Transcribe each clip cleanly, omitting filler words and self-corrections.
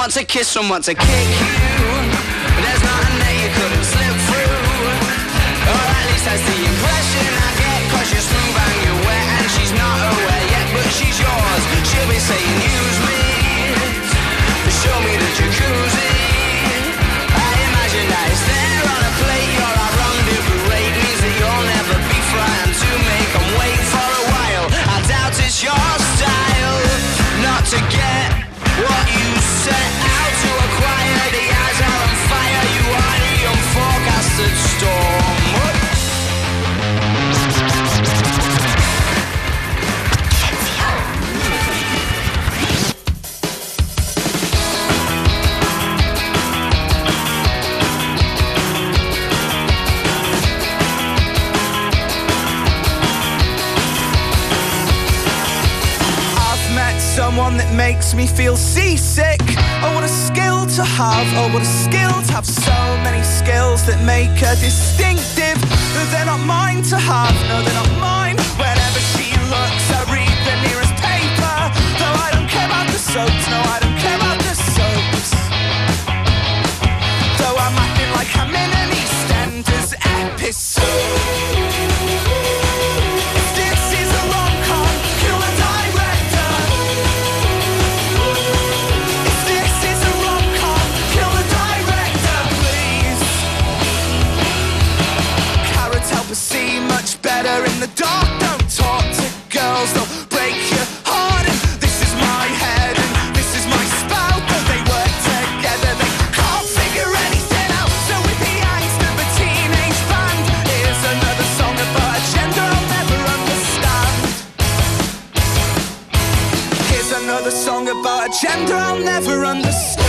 want to kiss, some want to kick you. There's nothing that you couldn't slip through. Or at least that's the impression I get. Cause you're smooth and you're wet and she's not aware yet, but she's yours. She'll be saying use me, show me the jacuzzi. I imagine that it's there on a plate. You're our rendezvous rate, means that you'll never be frightened to make them wait for a while. I doubt it's your style not to get what you set out to acquire. The eyes are on fire, you are the unforecasted storm. Someone that makes me feel seasick. Oh, what a skill to have. Oh, what a skill to have. So many skills that make her distinctive. They're not mine to have. No, they're not mine. Whenever she looks, I read the nearest paper. Though I don't care about the soaps. No, I don't care about the soaps. Though I'm acting like I'm in an EastEnders episode. See much better in the dark. Don't talk to girls, they'll break your heart. And this is my head and this is my spout. Though they work together, they can't figure anything out. So with the angst of a teenage band, here's another song about a gender I'll never understand. Here's another song about a gender I'll never understand.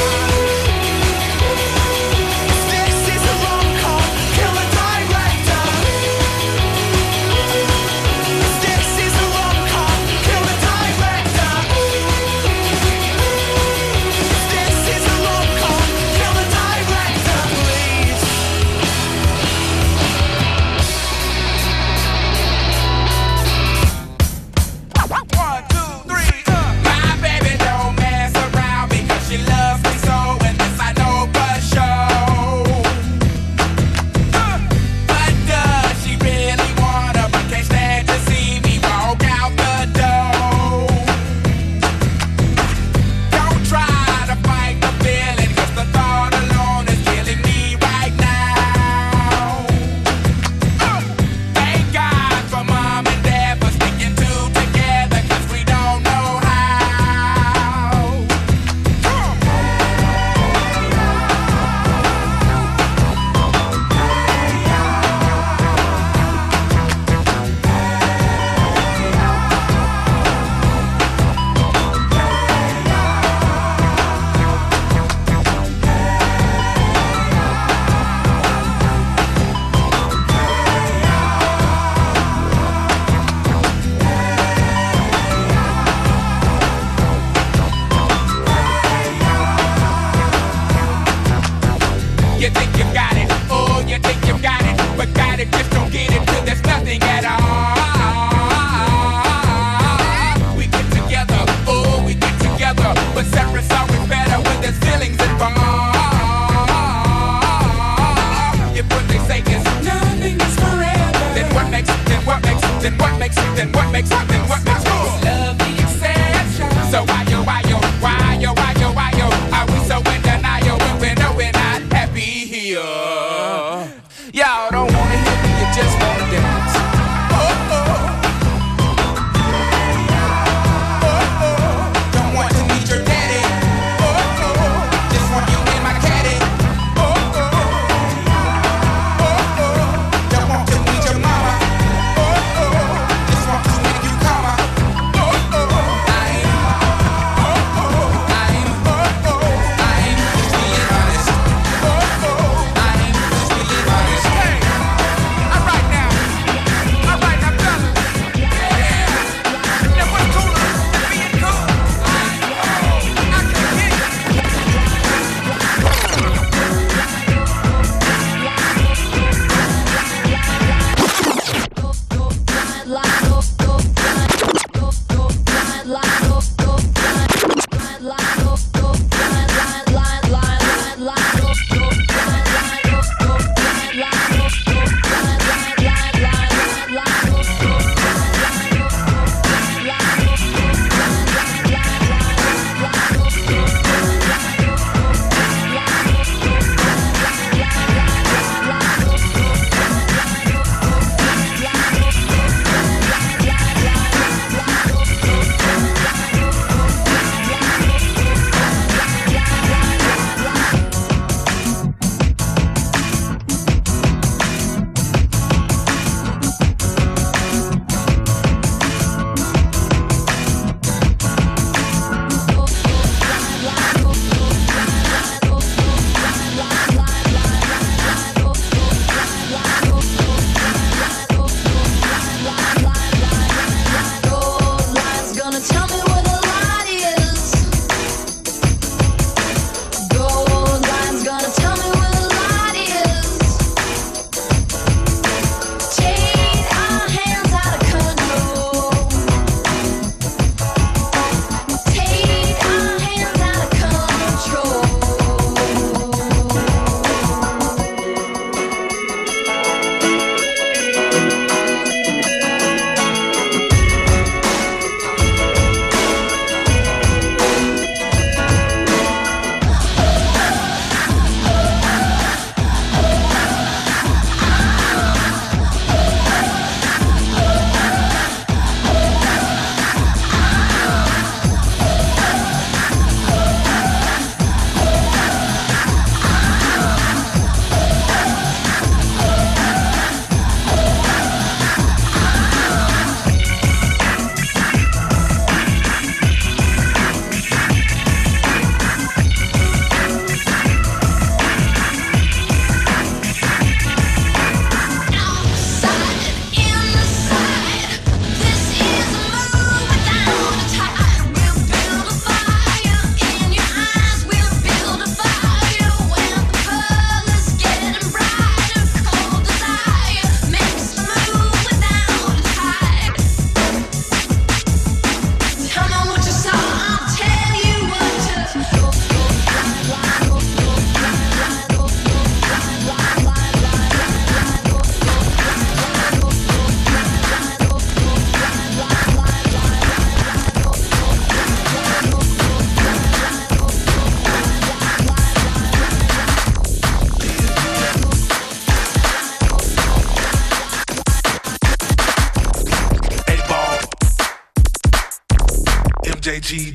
MJG,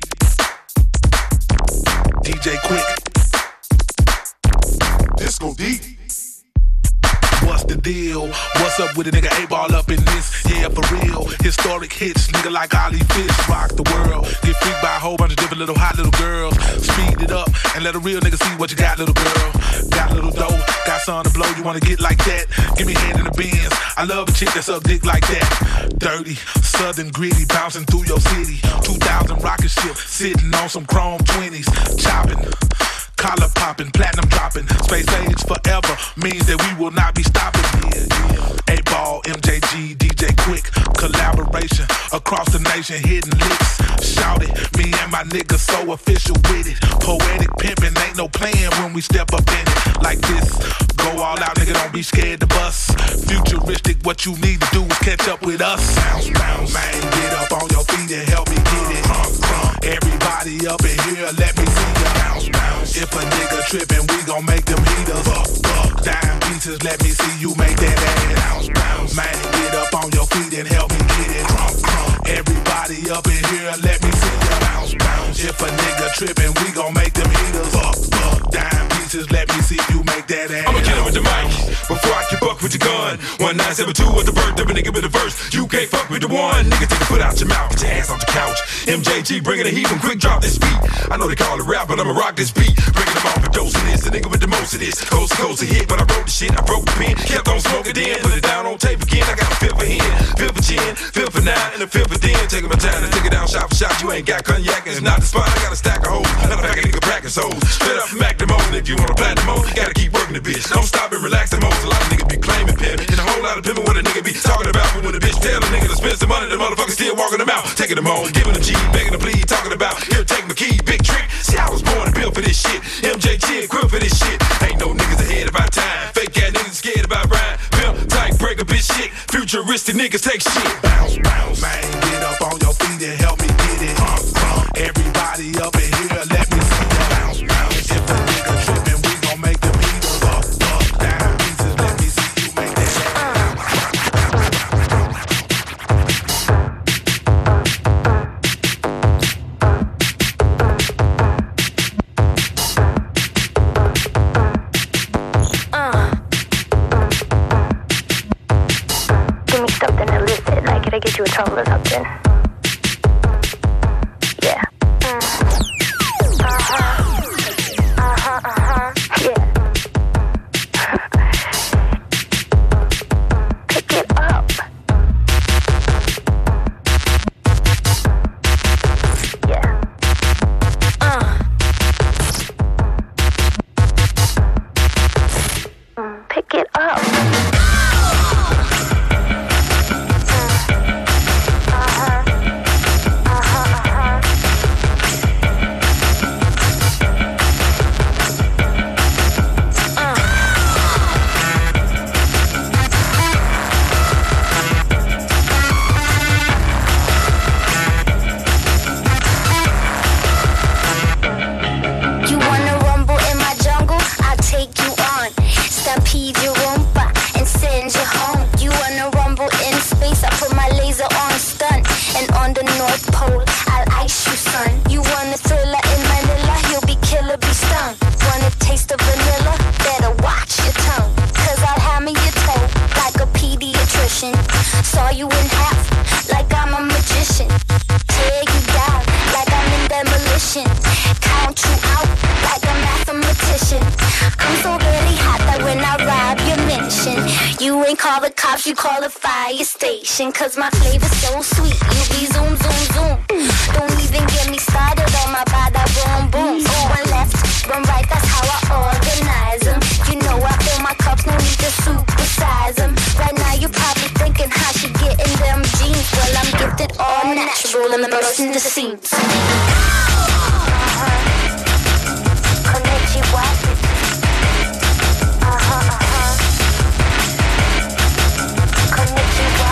DJ Quick, Disco Deep. What's the deal? What's up with a nigga 8-ball up in this? Yeah, for real. Historic hits, nigga like Ollie Fish. Rock the world. Get freaked by a whole bunch of different little hot little girls. Speed it up and let a real nigga see what you got, little girl. Got a little dough, got something to blow. You wanna get like that? Give me a hand in the Benz. I love a chick that suck dick like that. Dirty, southern gritty, bouncing through your city. 2000 rocket ship, sitting on some chrome 20s. Chopping. Collar popping, platinum dropping, space age forever means that we will not be stopping. Yeah. 8-ball, MJG, DJ Quick, collaboration across the nation, hitting licks. Shout it, me and my niggas so official with it. Poetic pimping, ain't no playing when we step up in it. Like this, go all out, nigga, don't be scared to bust. Futuristic, what you need to do is catch up with us. Bounce, bounce, man, get up on your feet and help me get it. Everybody up in here, let me see you. Bounce, bounce. If a nigga trippin', we gon' make them heaters. Dime pieces, let me see you make that ass. Bounce, bounce. Man, get up on your feet and help me get it. Everybody up in here, let me see you. Bounce, bounce. If a nigga trippin', we gon' make them heaters. Dime pieces, let me see you make that ass. I'ma kill him with the mic before I can buck with your gun. 1972 was the birth of a nigga with a verse. You can't fuck with the one. Nigga, take a foot out your mouth, get your ass off the couch. MJG bringing the heat from quick drop this beat. I know they call it rap, but I'ma rock this beat. Bringing them off the dose of this, the nigga with the most of this. Coast to coast a hit, but I wrote the shit, I broke the pen. Kept on smoking then, put it down on tape again. I got a fifth for hen, fifth for chin, fifth for nine, and a fifth for ten. Taking my time to take it down shot for shot. You ain't got cognac, and it's not the spot. I got a stack of hoes, and I pack a nigga practice hoes. Straight up from Mac the mode, if you wanna platinum mode, you gotta keep working the bitch. Don't stop and relax the most. A lot of niggas be claiming pimp, and a whole lot of pimpin' what a nigga be talking about. But when a bitch tell a nigga to spend some money, the motherfucker still walking them out. Taking them home, giving them G, begging them please, talking about here, take my key, big trick. See, I was born and built for this shit. MJG equipped for this shit. Ain't no niggas ahead of our time. Fake ass niggas scared about Brian. Pimp, type, break a bitch shit. Futuristic niggas take shit. Bounce, bounce, man, get up on your feet and help me get it. Everybody up in here, let me see you. Bounce, bounce. If a nigga trippin', we gon' make them heaters up, down pieces. Let me see you make that shit. Give me something illicit, like it'll get you in trouble or something. Yeah. Yeah. Pick it up. Yeah. Pick it up. You wanna rumble in my jungle? I'll take you on. Stampede your roomba and send you home. You wanna rumble in space? I put my laser on stun. And on the North Pole, I'll ice you, son. You want a thriller in Manila? You'll be killer, be stung. Want a taste of vanilla? Better watch your tongue. Cause I'll hammer your toe like a pediatrician. Saw you in half like I'm a magician. Tear you down like I'm in demolition. Count you out like a mathematician. I'm so really hot that when I rob your mansion, you ain't call the cops, you call the fire station. Cause my flavor's so sweet, you be zoom, zoom, zoom. Don't even get me started on my bada boom, boom. One left, one right, that's how I organize them. You know I fill my cups, no need to supersize them. Right now you're probably thinking how she getting them jeans. Well, I'm gifted all natural and bursting the seams. Konnichiwa. Konnichiwa.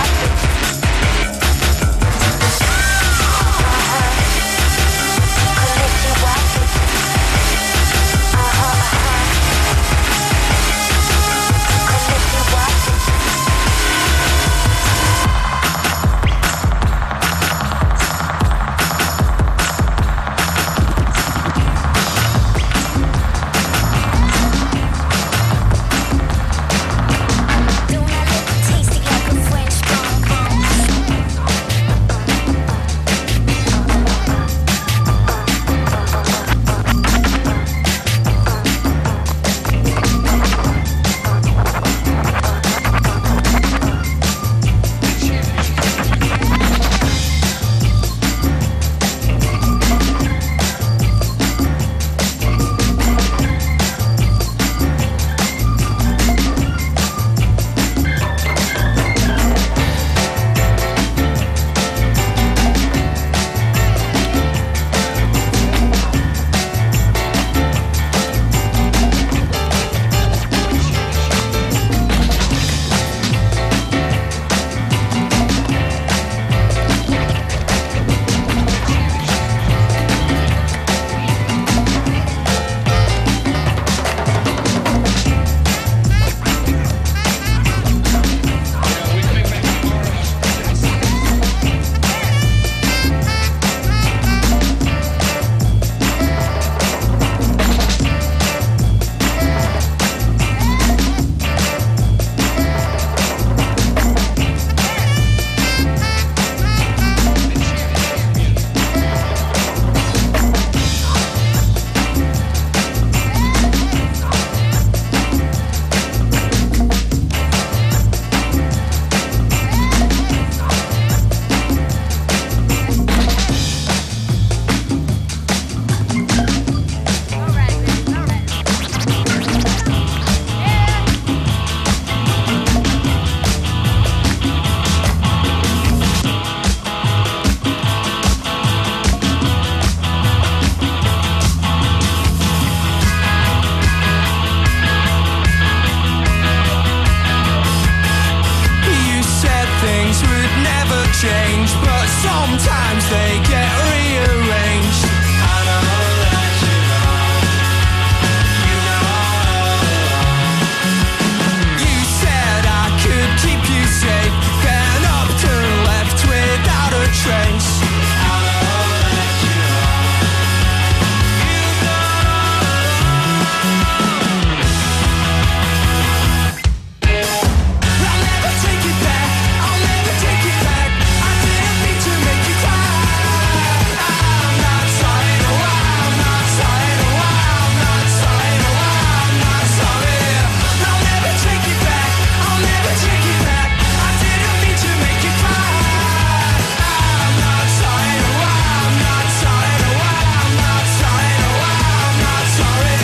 Sometimes they get rearranged. I know that you know. You said I could keep you safe, then up to left without a trace. I know that you I'll never take it back. I'll never take it back. I didn't mean to make you cry. I'm not sorry. No, I'm not sorry. No, I'm not sorry. No, I'm not sorry. I'll never take it back. I'll never take it back. I didn't mean to make you cry. I'm not sorry. No, I'm not sorry. No, I'm not sorry. No, I'm not sorry.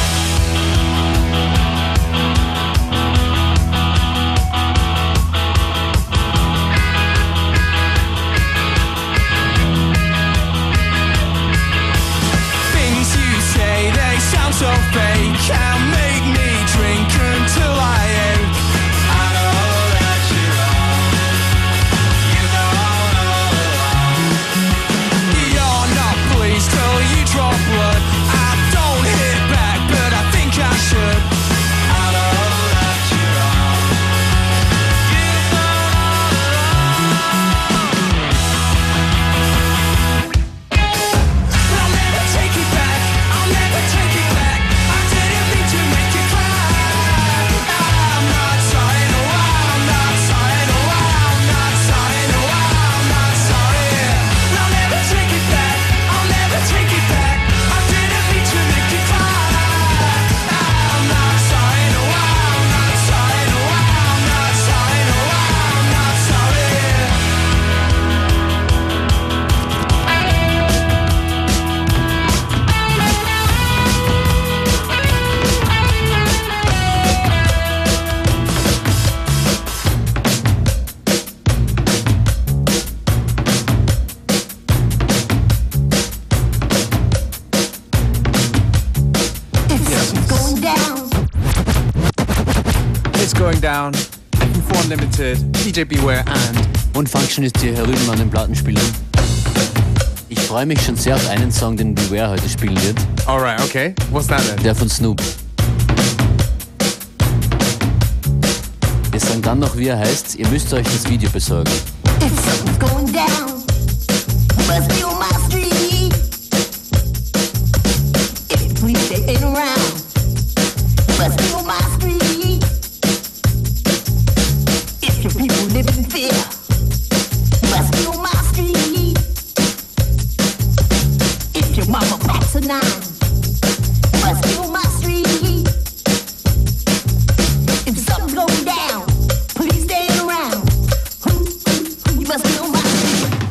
Things you say, they sound so fake and make me drink until I ache. I know that you're wrong. You know. You're not pleased till you draw blood. I don't hit back, but I think I should. I know that you're wrong. You I'll never take it back. I'll never take it back. I didn't mean to make you cry. I'm not sorry. No, I'm not sorry. No, I'm not sorry. No, I'm not sorry. I'll never take it back. I'll never take it back. I didn't mean to make you cry. I'm not sorry. No, I'm not sorry. No, I'm not sorry. No, I'm not sorry. Going down. It's Going Down, FM4 Unlimited, DJ Beware Und Function ist hier herüben an den Plattenspielern. Ich freue mich schon sehr auf einen Song, den Beware heute spielen wird. Alright, okay. What's that then? Der von Snoop. Wir sagen dann noch, wie er heißt. Ihr müsst euch das Video besorgen. If something's going down, must be on my street. If the police they ain't around, must be on my street. If your people live in fear, must be on my street. If your mama packs a nine, must be on my street. If something's going down, police they ain't around, who you must be on my street.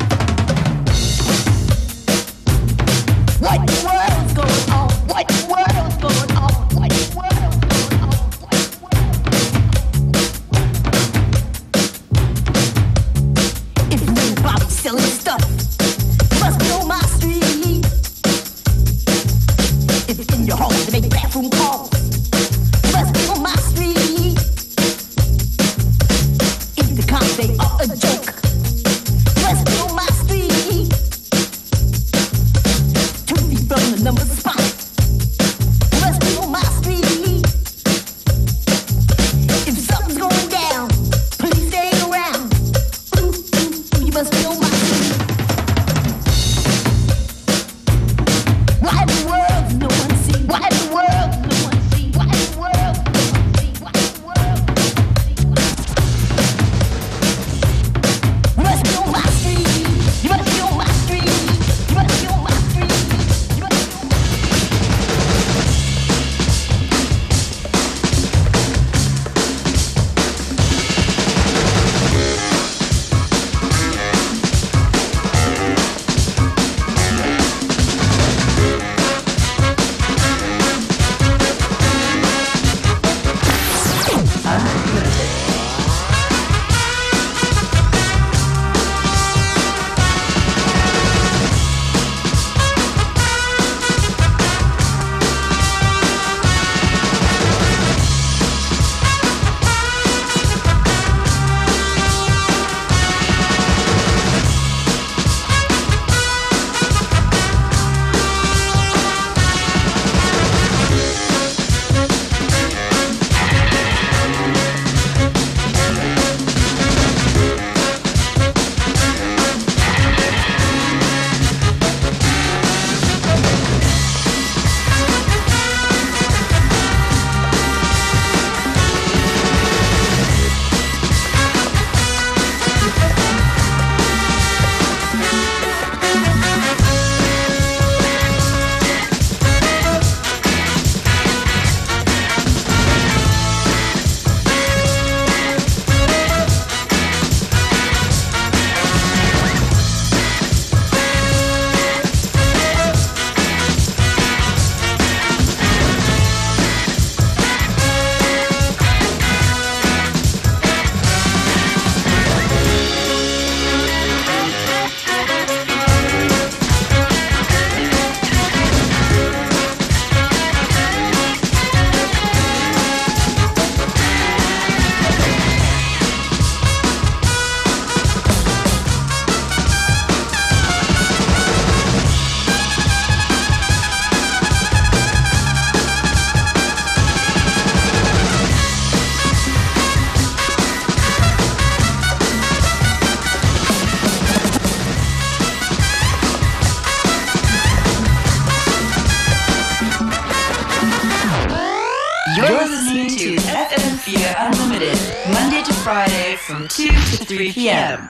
You're listening to FM4 Unlimited, Monday to Friday from 2 to 3 p.m.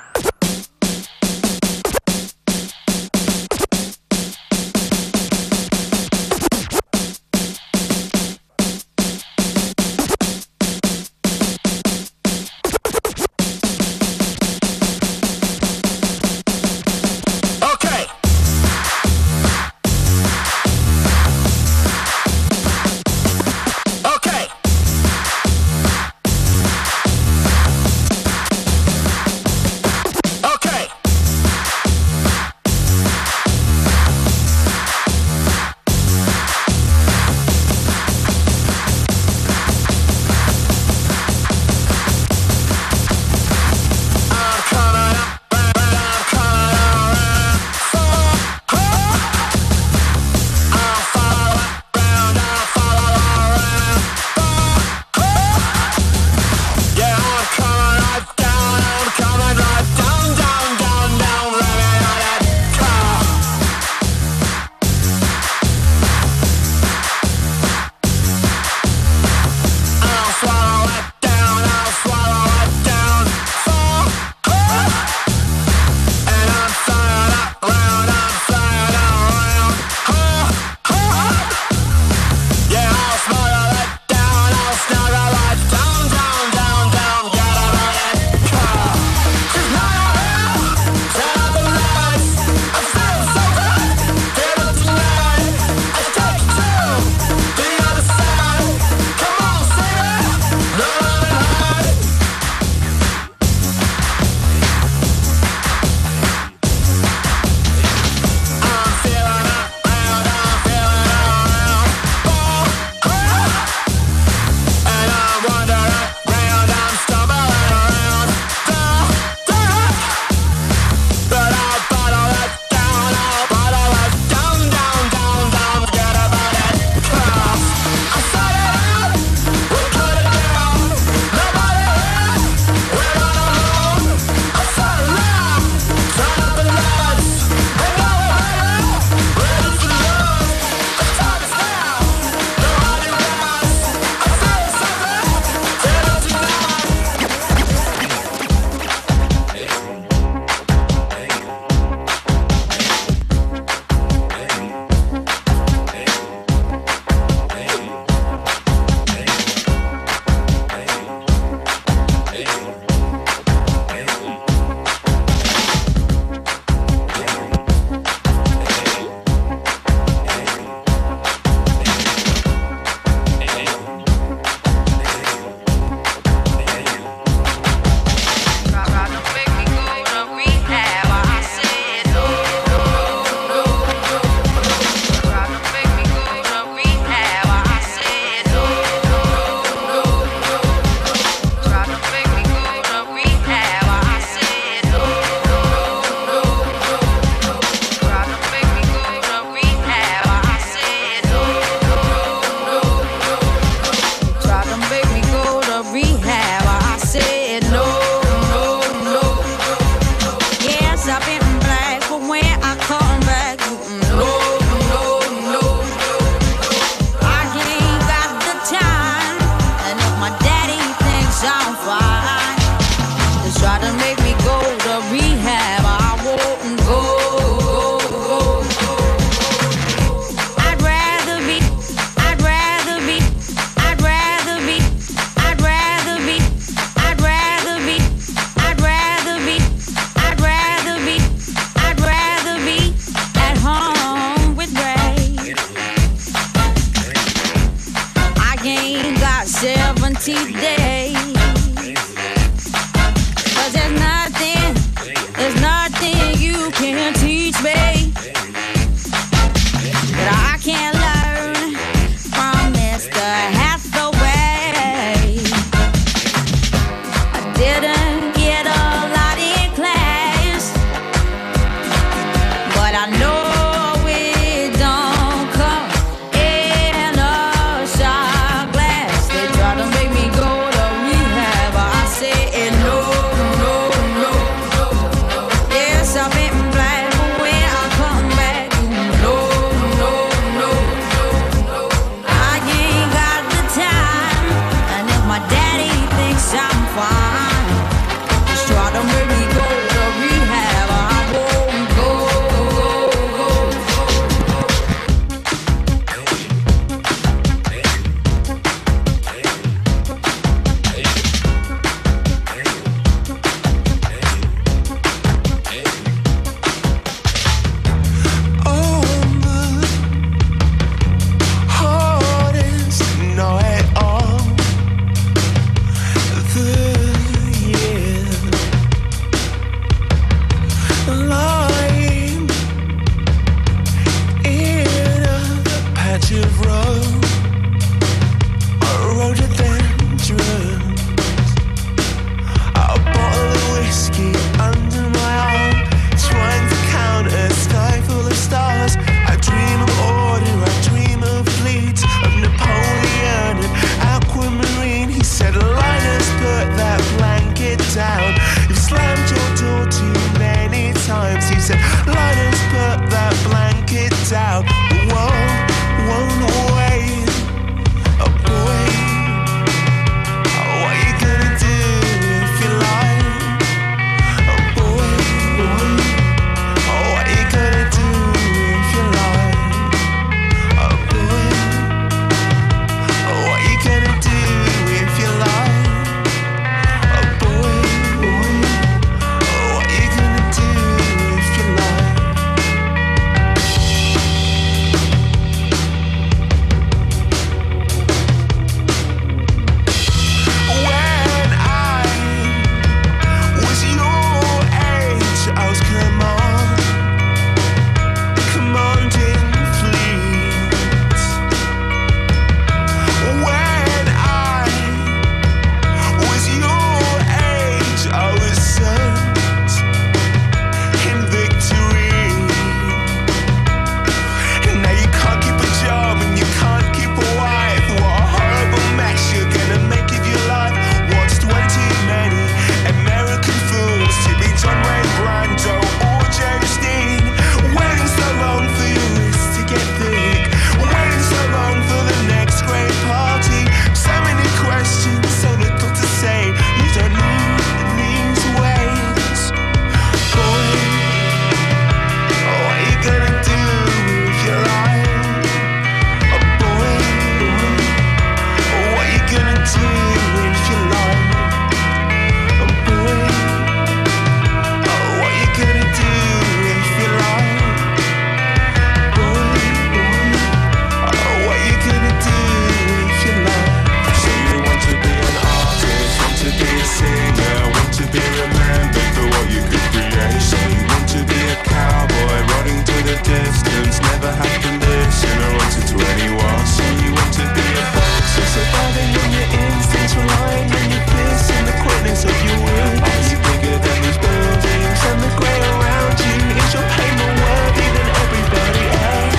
the distance, never have to listen or answer to anyone. So you want to be a boss, so surviving on your instincts, relying on your fists and the quickness of your will. Are you bigger than these buildings and the grey around you? Is your pain more worthy than everybody else?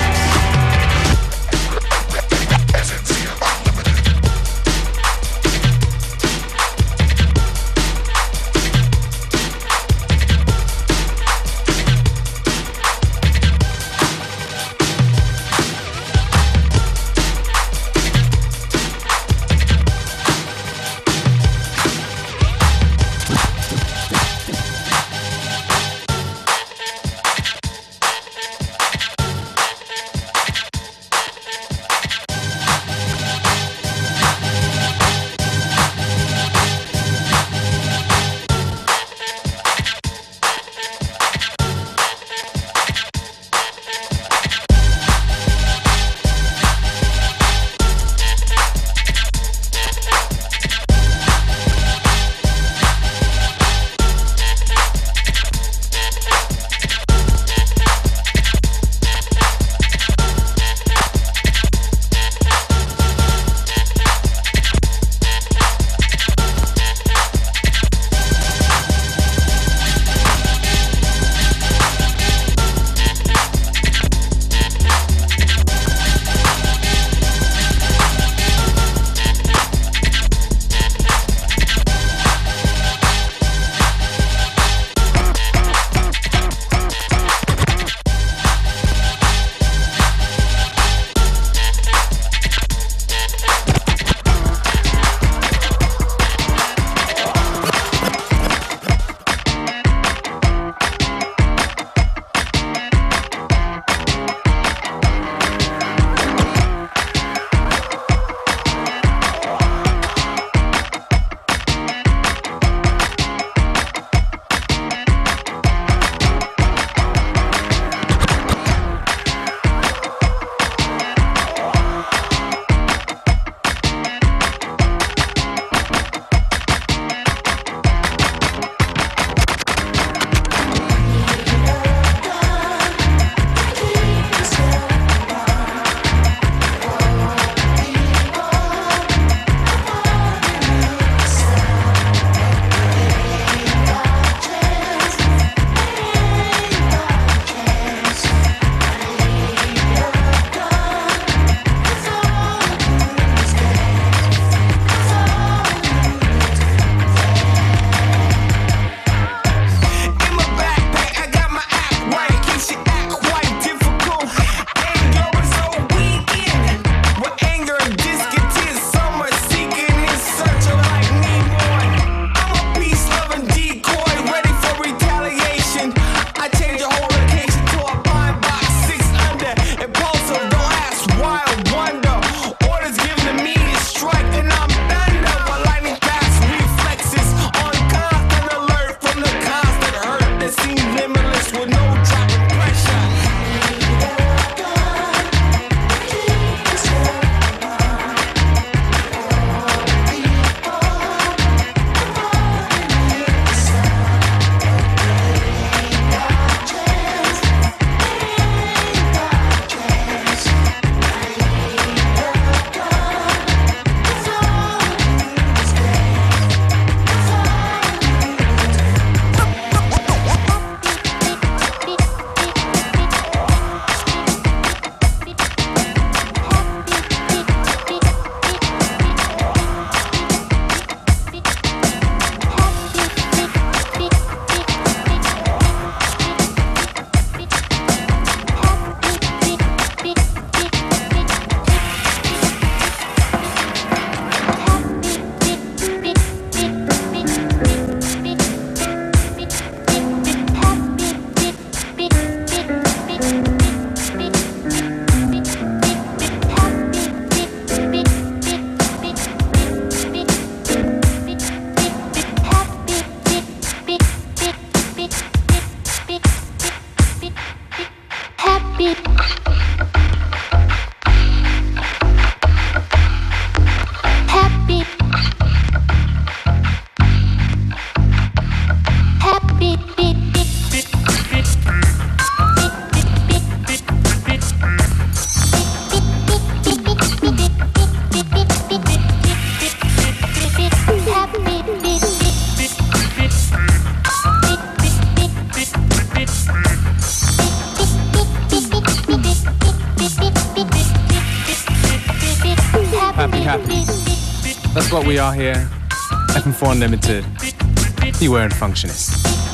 happy. That's what we are here. FM4 Unlimited. Beware and Functionist.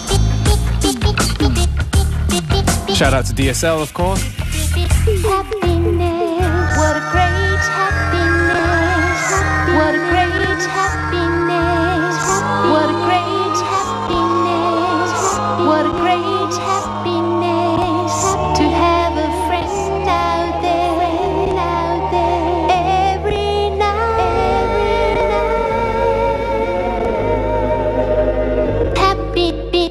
Shout out to DSL, of course. Happiness. What a great happiness. What a great happiness. What a great happiness. What a great happiness. To have a friend out there every night. Happy.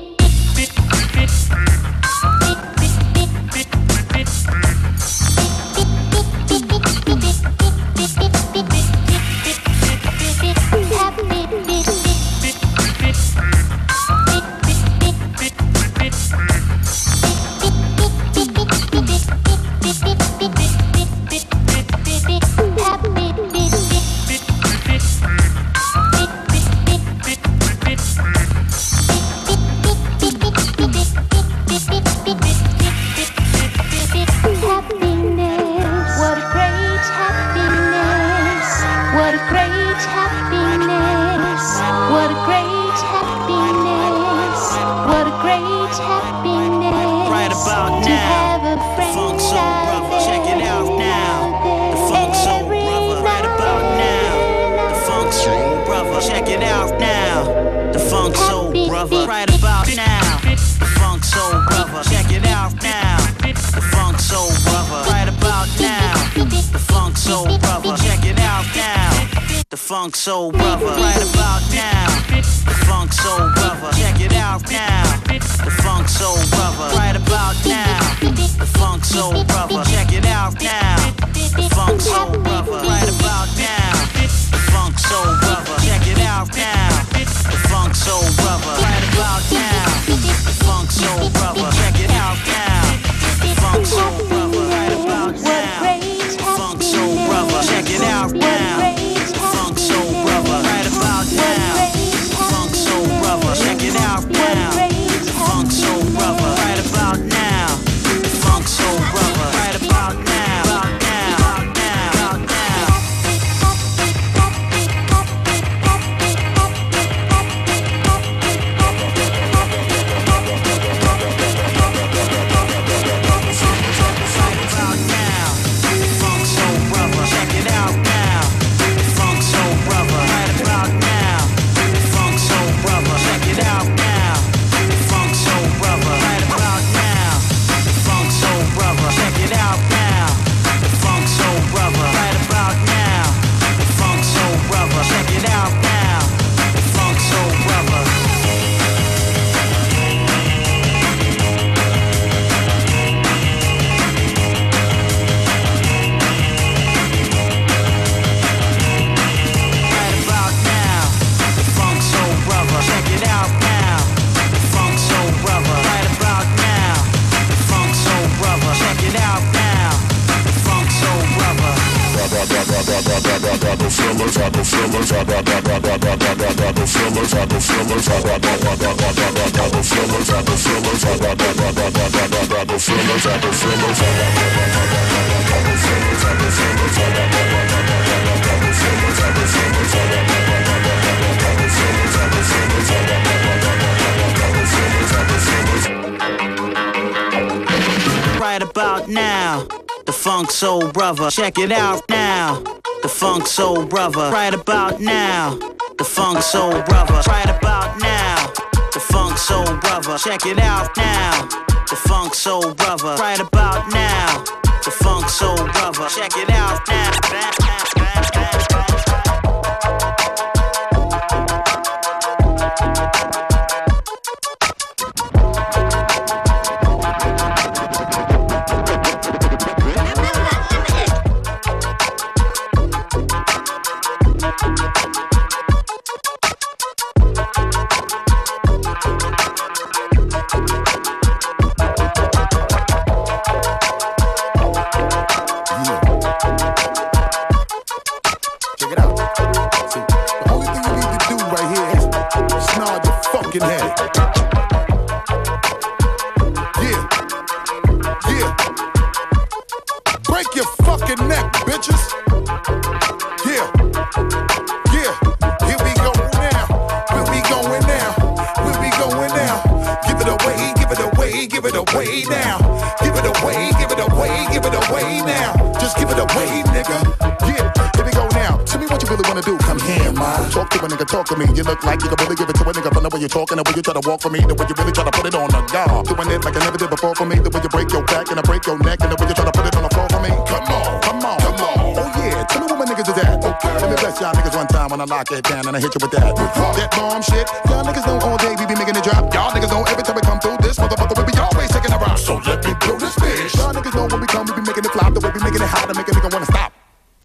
Funk Soul Brother, right about now. The Funk Soul Brother, check it out now. The Funk Soul Brother, right about now. The Funk Soul Brother, check it out now. The Funk Soul Brother, right about now. The Funk Soul Brother, check it out now. The Funk Soul Brother, right about now. The Funk Soul Brother, check it out now. The Funk Soul Brother, right about now. The Funk Soul Brother, check it out now. Check it out now. The Funk Soul Brother, right about now. The Funk Soul Brother, right about now. Right about now, the Funk Soul Brother, check it out now. The Funk Soul Brother, right about now. The Funk Soul Brother, right about now. The Funk Soul Brother, check it out now. The Funk Soul Brother, right about now. The Funk Soul Brother, check it out now. Hey now, just give it away, nigga. Yeah, here we go now. Tell me what you really wanna do. Come here, man. Talk to a nigga, talk to me. You look like you can really give it to a nigga from the way you're talking, the way you try to walk for me, the way you really try to put it on the guard. Doing it like I never did before for me, the way you break your back and I break your neck, and the way you try to put it on the floor for me. Come on, come on, come on. Oh yeah, tell me what my niggas is at. Okay, let me bless y'all niggas one time when I lock it down and I hit you with that. That bomb shit. Y'all niggas know all day we be making it drop. Y'all niggas know every time we come through this motherfucker we be always taking a rock. So let me blow this bitch. Y'all niggas know when we come we be making it flop. The way we making it hot to make a nigga wanna stop.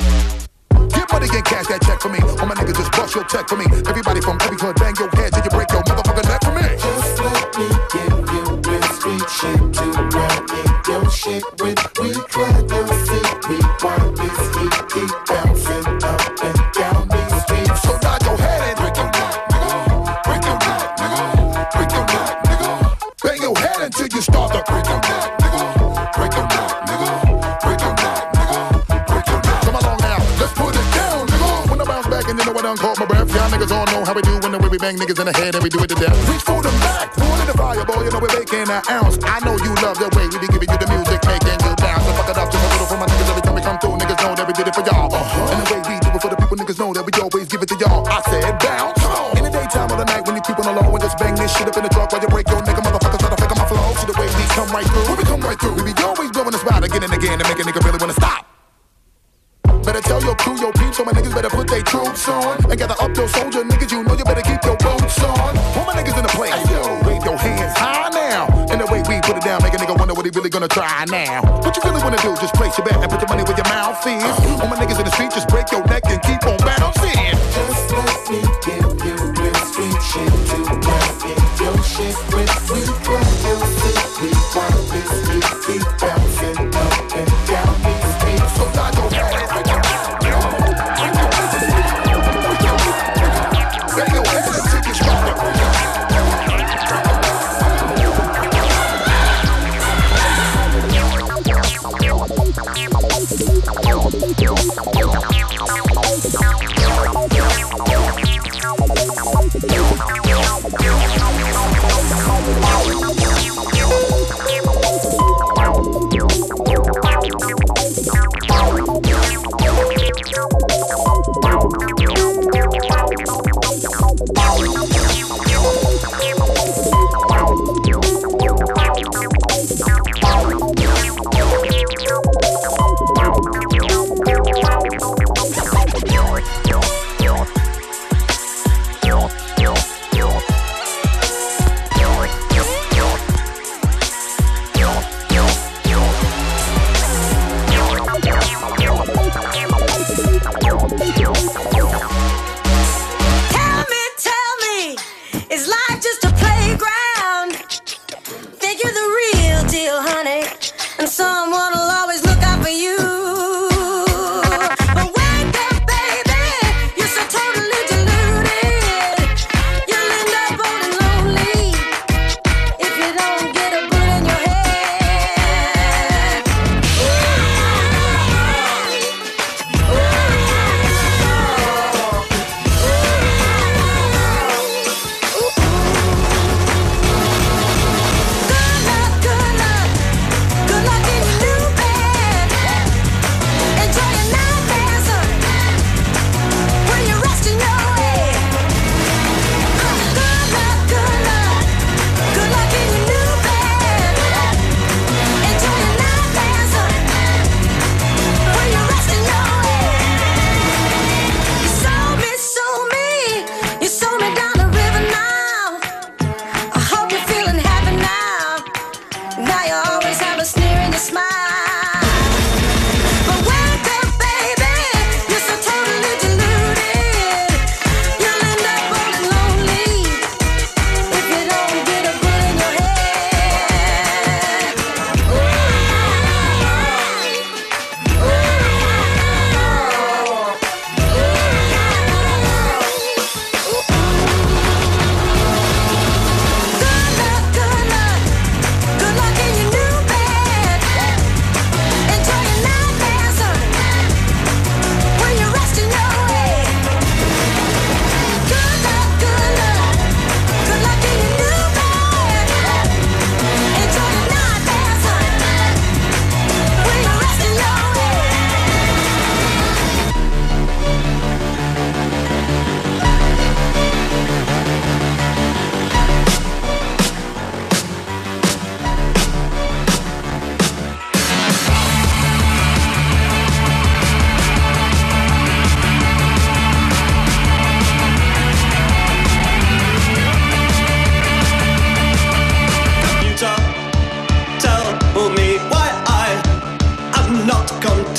Get money and cash that check for me. All my niggas just bust your check for me. Everybody from every hood bang your head till you break your motherfucking neck for me. Just let me give you real street shit to run in your shit with. We clap your feet, we want this heat keep bouncing up and down these streets. So nod your head and break your neck, nigga. Break your neck, nigga. Break your neck, nigga. Bang your head until you start to break your neck, nigga. Break your neck, nigga. Break your neck, nigga. Break your neck. Come along now, let's put it down, nigga. When I bounce back and you know I done caught my breath. Y'all niggas all know how we do when the way we bang niggas in the head and we do it to death. Reach for the back, one in the fire, boy. You know we're making an ounce. I know you love the way we be giving you the music, making you bounce. So fuck it up just a little for my niggas every time we come through. Niggas know that we did it for y'all. And the way we do it for the people, niggas know that we always give it to y'all. I said bounce. In the daytime or the night when you creep on the low and just bang this shit up in the truck while you break your nigga motherfuckers try to fake on my flow. See the way we come right through. When we come right through, we be always blowing the spot again and again to make a nigga really wanna stop. Better tell your crew, your peeps, so my niggas better put their troops on. And gather up your soldier niggas, you know you better keep your boots on. All my niggas in the place, yo, wave your hands high now. And the way we put it down, make a nigga wonder what he really gonna try now. What you really wanna do, just place your bet and put your money where your mouth is. All my niggas in the street, just break your neck and keep on bouncing. Just let me give you real street shit to run in your shit with. We clap your feet, we want this heat keep bouncing up and down these streets. So nod your head.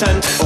content.